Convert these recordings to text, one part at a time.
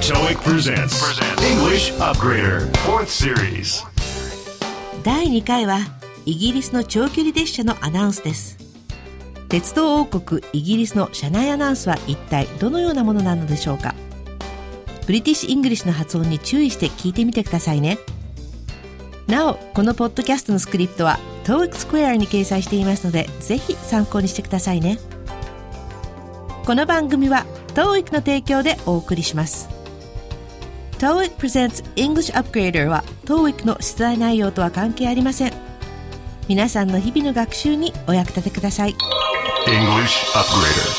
TOEIC presents English Upgrader 4th Series。 第2回はイギリスの長距離列車のアナウンスです。鉄道王国イギリスの車内アナウンスは一体どのようなものなのでしょうか。ブリティッシュ・イングリッシュの発音に注意して聞いてみてくださいね。なお、このポッドキャストのスクリプトは TOEIC Square に掲載していますので、ぜひ参考にしてくださいね。この番組は TOEIC の提供でお送りします。TOEIC presents English Upgrader は TOEIC の出題内容とは関係ありません。皆さんの日々の学習にお役立てください。 English Upgrader。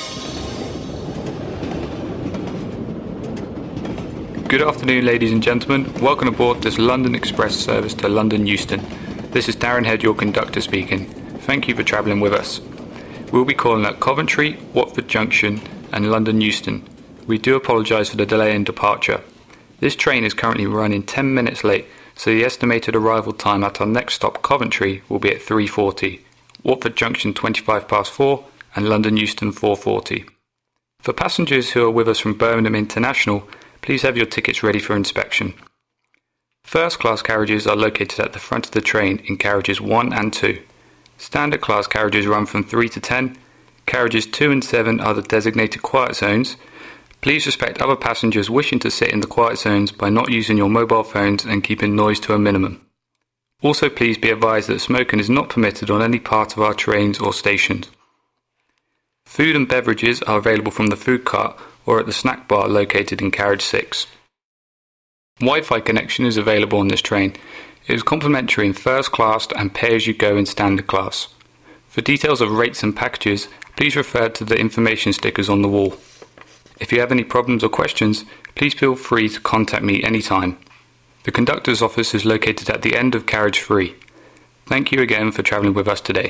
Good afternoon, ladies and gentlemen. Welcome aboard this London Express service to London Euston. This is Darren Head, your conductor speaking. Thank you for travelling with us. We'll be calling at Coventry, Watford Junction and London Euston. We do apologise for the delay in departure. This train is currently running 10 minutes late, so the estimated arrival time at our next stop, Coventry, will be at 3:40, Watford Junction 25 past 4 and London Euston 4:40. For passengers who are with us from Birmingham International, please have your tickets ready for inspection. First class carriages are located at the front of the train in carriages 1 and 2. Standard class carriages run from 3 to 10. Carriages 2 and 7 are the designated quiet zones. Please respect other passengers wishing to sit in the quiet zones by not using your mobile phones and keeping noise to a minimum. Also, please be advised that smoking is not permitted on any part of our trains or stations. Food and beverages are available from the food cart or at the snack bar located in carriage 6. Wi-Fi connection is available on this train. It is complimentary in first class and pay-as-you-go in standard class. For details of rates and packages, please refer to the information stickers on the wall. If you have any problems or questions, please feel free to contact me anytime. The conductor's office is located at the end of carriage 3. Thank you again for travelling with us today.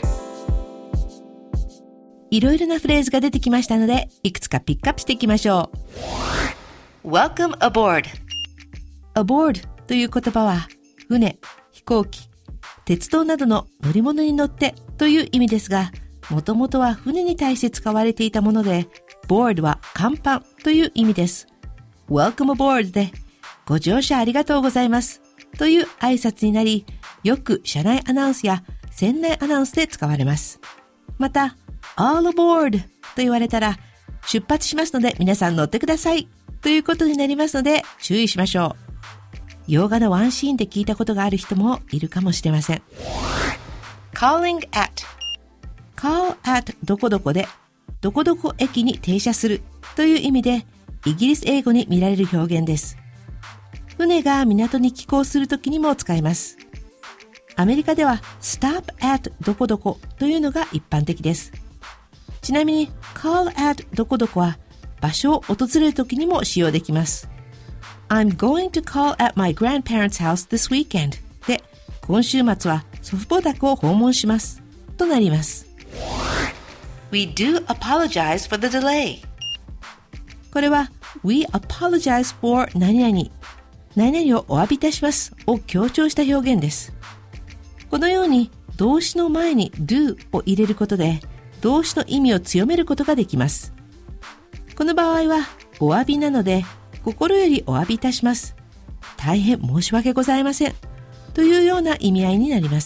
いろいろなフレーズが出てきましたので、いくつかピックアップしていきましょう。Welcome aboard。 aboard という言葉は、船、飛行機、鉄道などの乗り物に乗ってという意味ですが、もともとは船に対して使われていたもので、board は甲板という意味です。Welcome aboard で、ご乗車ありがとうございますという挨拶になり、よく車内アナウンスや船内アナウンスで使われます。また、all aboard と言われたら、出発しますので皆さん乗ってくださいということになりますので注意しましょう。洋画のワンシーンで聞いたことがある人もいるかもしれません。calling at call at どこどこでどこどこ駅に停車するという意味でイギリス英語に見られる表現です。船が港に寄港するときにも使います。アメリカでは stop at どこどこというのが一般的です。ちなみに call at どこどこは場所を訪れるときにも使用できます。I'm going to call at my grandparents' house this weekend で、今週末は祖父母宅を訪問しますとなります。We do apologize for the delay。 これは We apologize for 何々何々をお詫びいたしますを強調した表現です。このように動詞の前に do を入れることで動詞の意味を強めることができます。この場合はお詫びなので心よりお詫びいたします。大変申し訳ございません。というような意味合いになります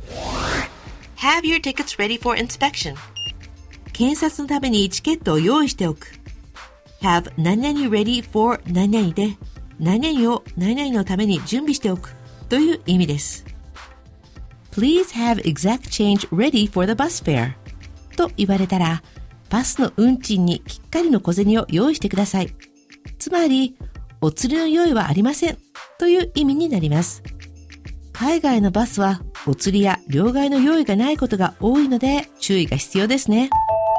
。Have your tickets ready for inspection。 検察のためにチケットを用意しておく。Have 何々 ready for 何々で何々を何々のために準備しておくという意味です。Please have exact change ready for the bus fare。 と言われたら、バスの運賃にきっかりの小銭を用意してください。つまり、お釣りの用意はありませんという意味になります。海外のバスはお釣りや両替の用意がないことが多いので注意が必要ですね。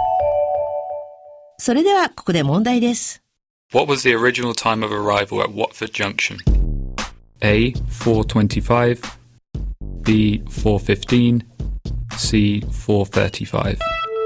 それではここで問題です。 What was the original time of arrival at Watford Junction? A. 4:25 B. 4:15 C. 4:35。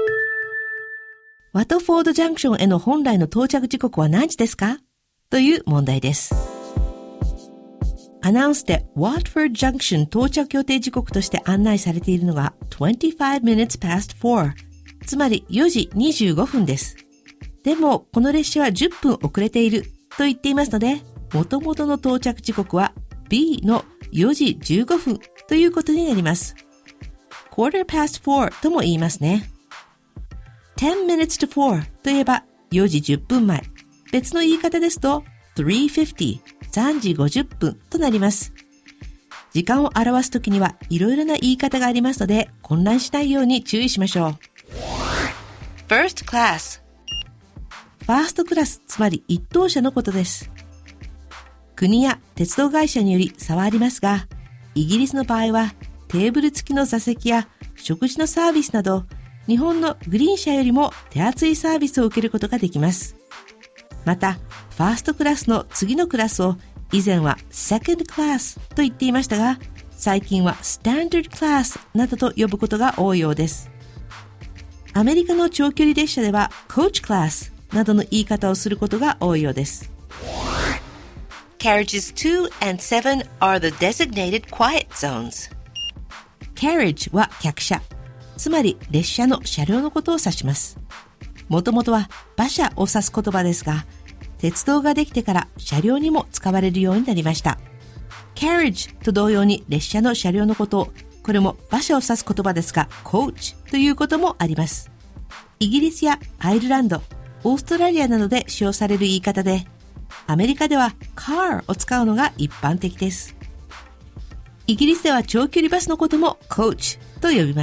ワトフォードジャンクションへの本来の到着時刻は何時ですかという問題です。アナウンスで Watford Junction 到着予定時刻として案内されているのが25 minutes past 4、つまり4時25分です。でもこの列車は10分遅れていると言っていますので、元々の到着時刻は B の4時15分ということになります。quarter past 4とも言いますね。10 minutes to 4といえば4時10分前。別の言い方ですと3:50、3時50分となります。時間を表すときにはいろいろな言い方がありますので、混乱しないように注意しましょう。 First class。 ファーストクラス、つまり一等車のことです。国や鉄道会社により差はありますが、イギリスの場合はテーブル付きの座席や食事のサービスなど、日本のグリーン車よりも手厚いサービスを受けることができます。また、ファーストクラスの次のクラスを以前はセカンドクラスと言っていましたが、最近はスタンダードクラスなどと呼ぶことが多いようです。アメリカの長距離列車ではコーチクラスなどの言い方をすることが多いようです。 Carriages 2 and 7 are the designated quiet zones. Carriage は客車、つまり列車の車両のことを指します。もともとは馬車を指す言葉ですが、鉄道ができてから車両にも使われるようになりました。Carriage と同様に列車の車両のことを、これも馬車を指す言葉ですが、Coach ということもあります。イギリスやアイルランド、オーストラリアなどで使用される言い方で、アメリカでは car を使うのが一般的です。イギリスでは長距離バスのことも coach と呼びます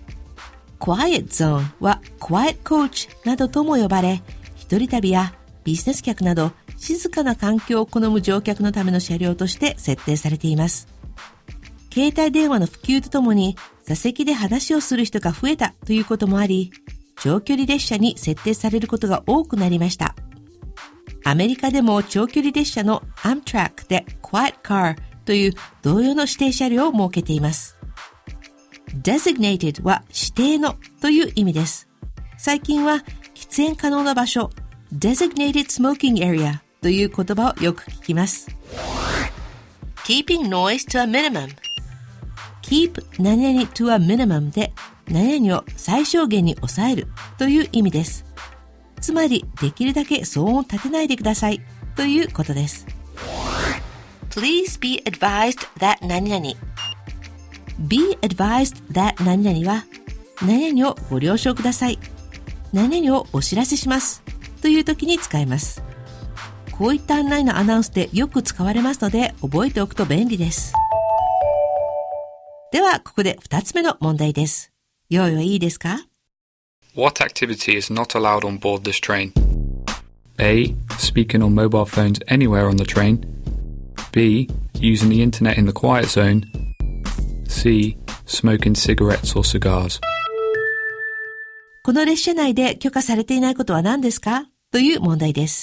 。Quiet Zone は Quiet Coach などとも呼ばれ、一人旅やビジネス客など静かな環境を好む乗客のための車両として設定されています。携帯電話の普及とともに座席で話をする人が増えたということもあり、長距離列車に設定されることが多くなりました。アメリカでも長距離列車の Amtrak で Quiet Car という同様の指定車両を設けています。Designated は指定のという意味です。最近は喫煙可能な場所、Designated Smoking Area という言葉をよく聞きます。 Keeping noise to a minimum. Keep 何々 to a minimum で何々を最小限に抑えるという意味です。つまりできるだけ騒音を立てないでくださいということです。 Please be advised that 何々。 Be advised that 何々は何々をご了承ください。何々をお知らせしますという時に使います。こういった案内のアナウンスでよく使われますので覚えておくと便利です。ではここで2つ目の問題です。用意はいいですか？ What activity is not allowed on board this train? A. Speaking on mobile phones anywhere on the train. B. Using the internet in the quiet zone. C. Smoking cigarettes or cigars. この列車内で許可されていないことは何ですか？という問題です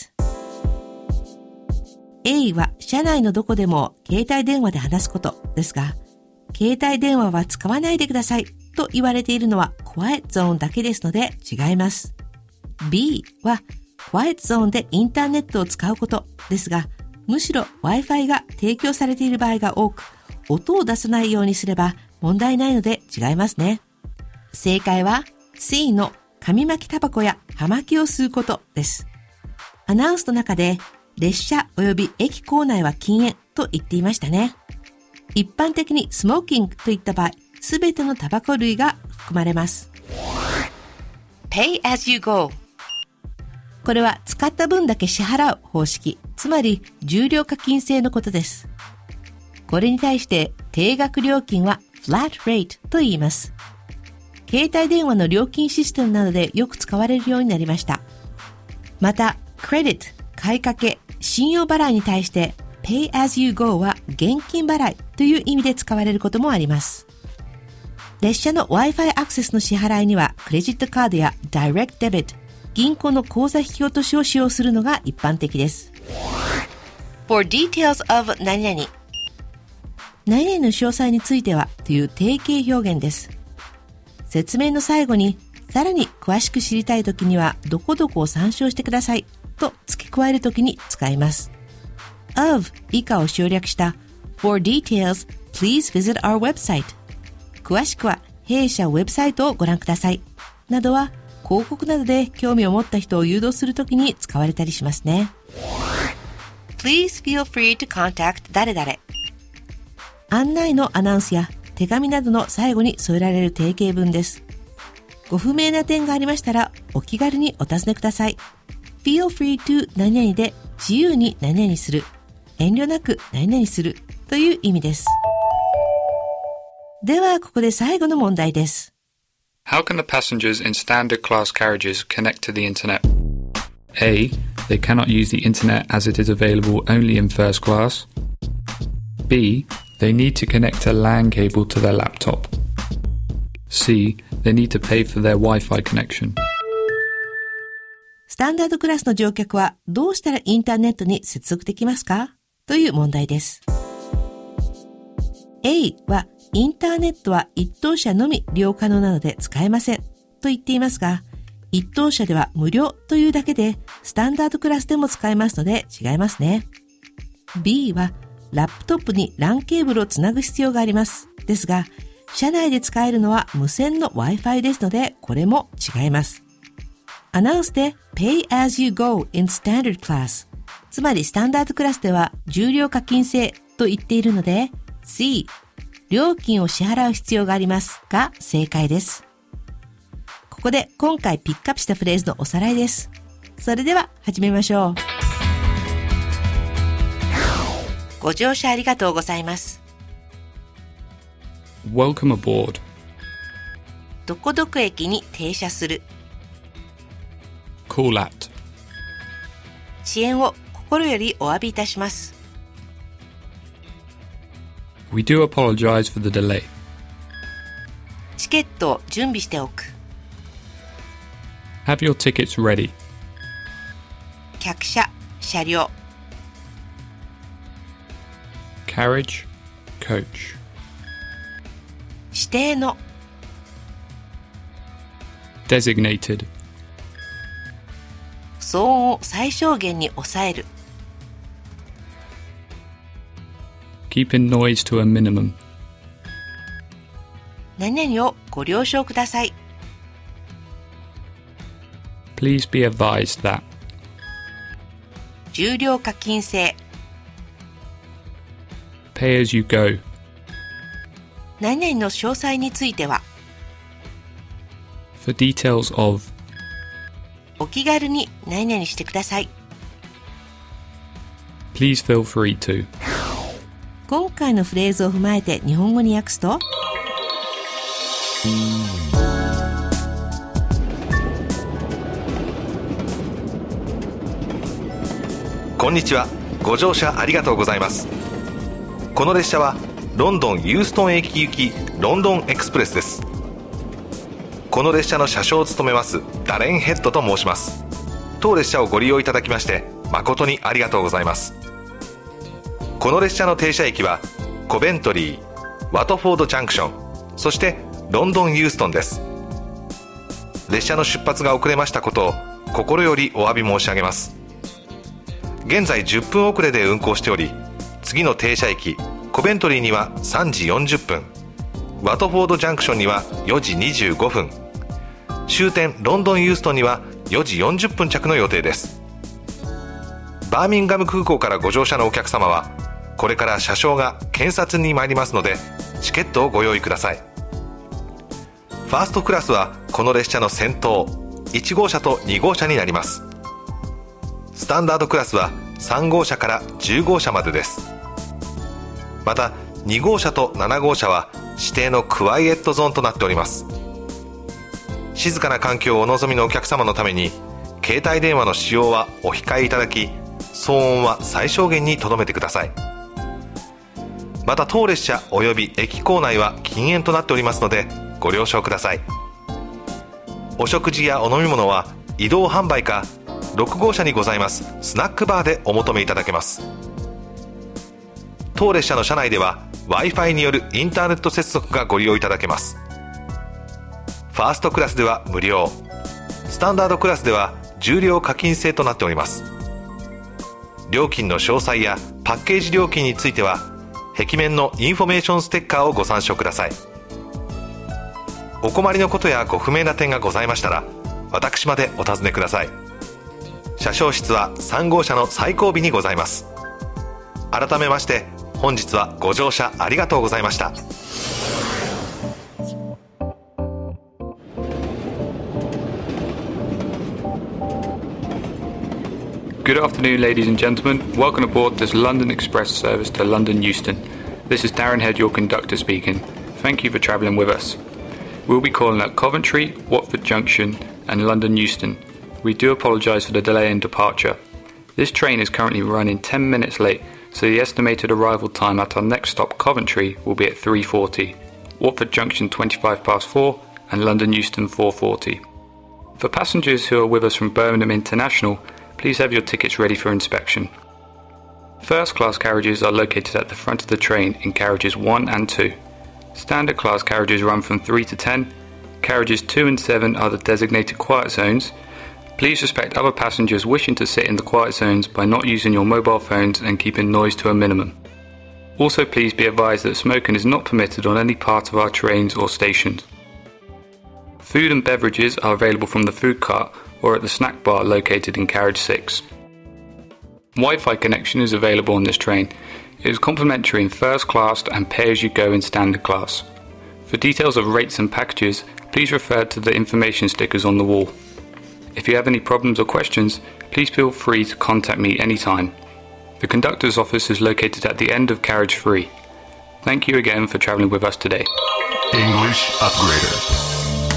。A は車内のどこでも携帯電話で話すことですが、携帯電話は使わないでくださいと言われているのは Quiet Zone だけですので違います。B は Quiet Zone でインターネットを使うことですが、むしろ Wi-Fi が提供されている場合が多く、音を出さないようにすれば問題ないので違いますね。正解は C の紙巻きタバコや葉巻を吸うことです。アナウンスの中で列車及び駅構内は禁煙と言っていましたね。一般的にスモーキングといった場合、すべてのタバコ類が含まれます。 Pay as you go。 これは使った分だけ支払う方式、つまり重量課金制のことです。これに対して定額料金は flat rate と言います。携帯電話の料金システムなどでよく使われるようになりました。また、クレディット、買いかけ、信用払いに対して Pay as you go は現金払いという意味で使われることもあります。列車の Wi-Fi アクセスの支払いにはクレジットカードや Direct Debit、銀行の口座引き落としを使用するのが一般的です。 For details of 何々。 何々の詳細についてはという定型表現です。説明の最後にさらに詳しく知りたいときにはどこどこを参照してくださいと付け加えるときに使います。of 以下を省略した For details, please visit our website。詳しくは弊社ウェブサイトをご覧くださいなどは広告などで興味を持った人を誘導するときに使われたりしますね。 Please feel free to contact 誰々。 案内のアナウンスや手紙などの最後に添えられる定型文です。ご不明な点がありましたらお気軽にお尋ねください。Feel free to 何々で自由に何々する、遠慮なく何々するという意味です。ではここで最後の問題です。 How can the passengers in standard class carriages connect to the internet? A. They cannot use the internet as it is available only in first class. B. They need to connect a LAN cable to their laptop. C. They need to pay for their Wi-Fi connection. スタンダードクラスの乗客はどうしたらインターネットに接続できますかという問題です。A はインターネットは一等車のみ利用可能なので使えませんと言っていますが、一等車では無料というだけでスタンダードクラスでも使えますので違いますね。B はラップトップに LAN ケーブルをつなぐ必要があります。ですが、車内で使えるのは無線の Wi-Fi ですので、これも違います。アナウンスで Pay as you go in standard class。つまりスタンダードクラスでは重量課金制と言っているので、C、料金を支払う必要がありますが正解です。ここで今回ピックアップしたフレーズのおさらいです。それでは始めましょう。 ご乗車ありがとうございます。 Welcome aboard. どこどこ駅に停車する。 Call at. 遅延を心よりお詫びいたします。 We do apologize for the delay. チケットを準備しておく。 Have your tickets ready. 客車、車両。 Carriage, coach. 指定の。 Designated. 騒音を最小限に抑える。 Keeping noise to a minimum. 何々をご了承ください。 Please be advised that. 重量課金制。 Pay as you go. 何々の詳細については。 For details of. お気軽に何々してください。 Please feel free to. 今回のフレーズを踏まえて日本語に訳すと、 こんにちは。ご乗車ありがとうございます。この列車はロンドンユーストン駅行きロンドンエクスプレスです。この列車の車掌を務めますダレンヘッドと申します。当列車をご利用いただきまして誠にありがとうございます。この列車の停車駅はコベントリー、ワトフォードジャンクション、そしてロンドンユーストンです。列車の出発が遅れましたことを心よりお詫び申し上げます。現在10分遅れで運行しており、次の停車駅コベントリーには3時40分、ワトフォードジャンクションには4時25分、終点ロンドンユーストンには4時40分着の予定です。バーミンガム空港からご乗車のお客様はこれから車掌が検察に参りますのでチケットをご用意ください。ファーストクラスはこの列車の先頭1号車と2号車になります。スタンダードクラスは3号車から10号車までです。また2号車と7号車は指定のクワイエットゾーンとなっております。静かな環境をお望みのお客様のために携帯電話の使用はお控えいただき、騒音は最小限に留めてください。また当列車および駅構内は禁煙となっておりますのでご了承ください。お食事やお飲み物は移動販売か6号車にございますスナックバーでお求めいただけます。当列車の車内では Wi-Fi によるインターネット接続がご利用いただけます。ファーストクラスでは無料、スタンダードクラスでは重量課金制となっております。料金の詳細やパッケージ料金については壁面のインフォメーションステッカーをご参照ください。お困りのことやご不明な点がございましたら私までお尋ねください。車掌室は3号車の最後尾にございます。 改めまして本日はご乗車ありがとうございました。 Good afternoon, ladies and gentlemen. Welcome aboard this London Express service to London Euston. This is Darren Head, your conductor speaking. Thank you for travelling with us. We'll be calling at Coventry, Watford Junction and London Euston. We do apologise for the delay in departure. This train is currently running 10 minutes late, so the estimated arrival time at our next stop, Coventry, will be at 3:40, Watford Junction 4:25 and London Euston 4:40. For passengers who are with us from Birmingham International, please have your tickets ready for inspection. First class carriages are located at the front of the train in carriages 1 and 2. Standard class carriages run from 3 to 10. Carriages 2 and 7 are the designated quiet zones. Please respect other passengers wishing to sit in the quiet zones by not using your mobile phones and keeping noise to a minimum. Also, please be advised that smoking is not permitted on any part of our trains or stations. Food and beverages are available from the food cart or at the snack bar located in carriage 6. Wi-Fi connection is available on this train. It is complimentary in first class and pay-as-you-go in standard class. For details of rates and packages, please refer to the information stickers on the wall. If you have any problems or questions, please feel free to contact me anytime. The conductor's office is located at the end of carriage 3. Thank you again for travelling with us today. English Upgrader.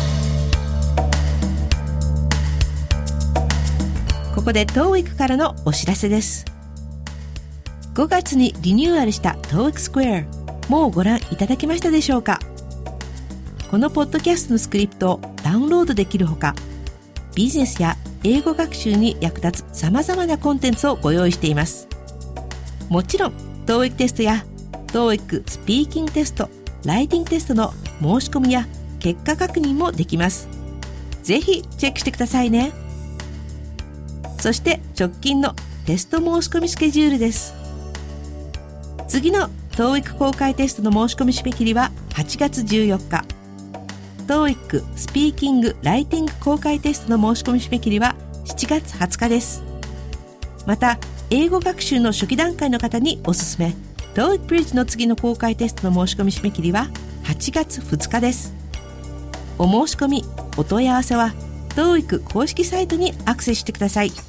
ここで TOEIC からのお知らせです。5月にリニューアルした TOEIC Square、 もうご覧いただけましたでしょうか。このポッドキャストのスクリプトをダウンロードできるほか、ビジネスや英語学習に役立つ様々なコンテンツをご用意しています。もちろん TOEIC テストや TOEIC スピーキングテスト、ライティングテストの申し込みや結果確認もできます。ぜひチェックしてくださいね。そして直近のテスト申し込みスケジュールです。次の TOEIC 公開テストの申し込み締め切りは8月14日。TOEIC スピーキング・ライティング公開テストの申し込み締め切りは7月20日です。また、英語学習の初期段階の方におすすめ、TOEIC Bridge の次の公開テストの申し込み締め切りは8月2日です。お申し込み、お問い合わせはTOEIC 公式サイトにアクセスしてください。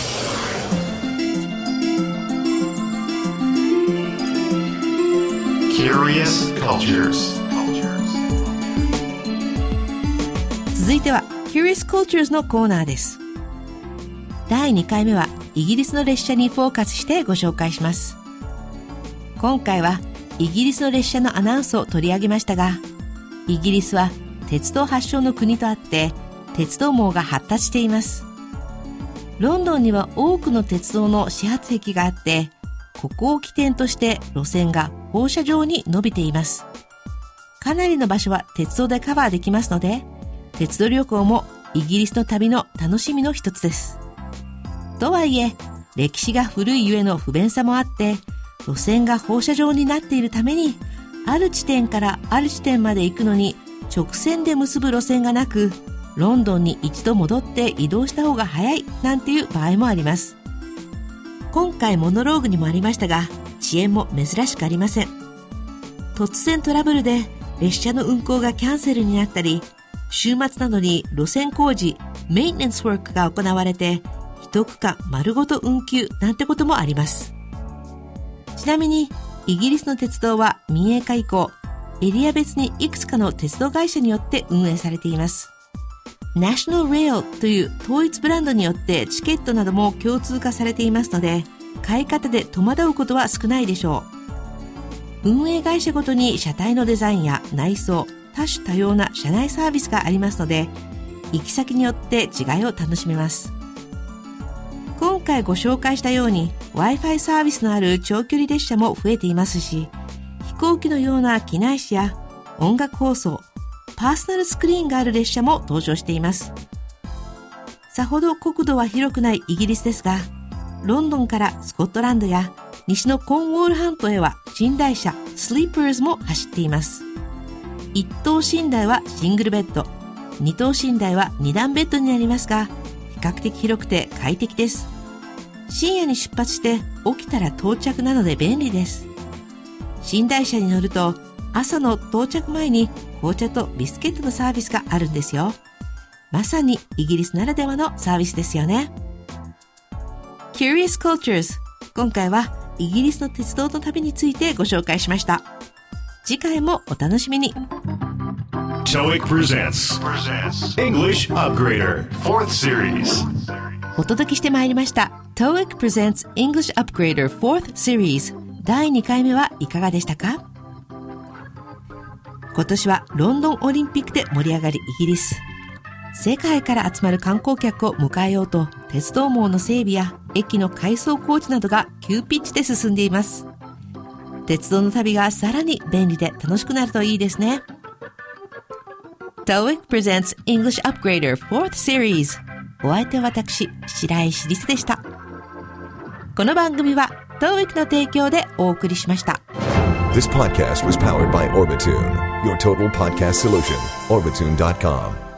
Curious Cultures。 続いては Curious Cultures のコーナーです。第2回目はイギリスの列車にフォーカスしてご紹介します。今回はイギリスの列車のアナウンスを取り上げましたが、イギリスは鉄道発祥の国とあって鉄道網が発達しています。ロンドンには多くの鉄道の始発駅があって、ここを起点として路線が放射状に伸びています。かなりの場所は鉄道でカバーできますので、鉄道旅行もイギリスの旅の楽しみの一つです。とはいえ、歴史が古いゆえの不便さもあって、路線が放射状になっているために、ある地点からある地点まで行くのに直線で結ぶ路線がなく、ロンドンに一度戻って移動した方が早いなんていう場合もあります。今回モノローグにもありましたが、遅延も珍しくありません。突然トラブルで列車の運行がキャンセルになったり、週末などに路線工事、メインテナンスワークが行われて、一区間丸ごと運休なんてこともあります。ちなみに、イギリスの鉄道は民営化以降、エリア別にいくつかの鉄道会社によって運営されています。National Rail という統一ブランドによってチケットなども共通化されていますので、買い方で戸惑うことは少ないでしょう。運営会社ごとに車体のデザインや内装、多種多様な車内サービスがありますので、行き先によって違いを楽しめます。今回ご紹介したように Wi-Fi サービスのある長距離列車も増えていますし、飛行機のような機内紙や音楽放送、パーソナルスクリーンがある列車も登場しています。さほど国土は広くないイギリスですが、ロンドンからスコットランドや西のコーンウォール半島へは寝台車スリーパーズも走っています。一等寝台はシングルベッド、二等寝台は二段ベッドになりますが、比較的広くて快適です。 深夜に出発して起きたら到着なので便利です。寝台車に乗ると朝の到着前に紅茶とビスケットのサービスがあるんですよ。まさにイギリスならではのサービスですよね。Curious Cultures、 今回はイギリスの鉄道の旅についてご紹介しました。次回もお楽しみに。 TOEIC presents English Upgrader 4th Series。 お届けしてまいりました TOEIC presents English Upgrader 4th Series 第2回目はいかがでしたか？今年はロンドンオリンピックで盛り上がるイギリス。世界から集まる観光客を迎えようと鉄道網の整備や駅の改装工事などが急ピッチで進んでいます。鉄道の旅がさらに便利で楽しくなるといいですね。 TOEIC presents English Upgrader 4th Series。 お相手は私白石リスでした。この番組は TOEIC の提供でお送りしました。 This podcast was powered by Orbitune, your total podcast solution. Orbitune.com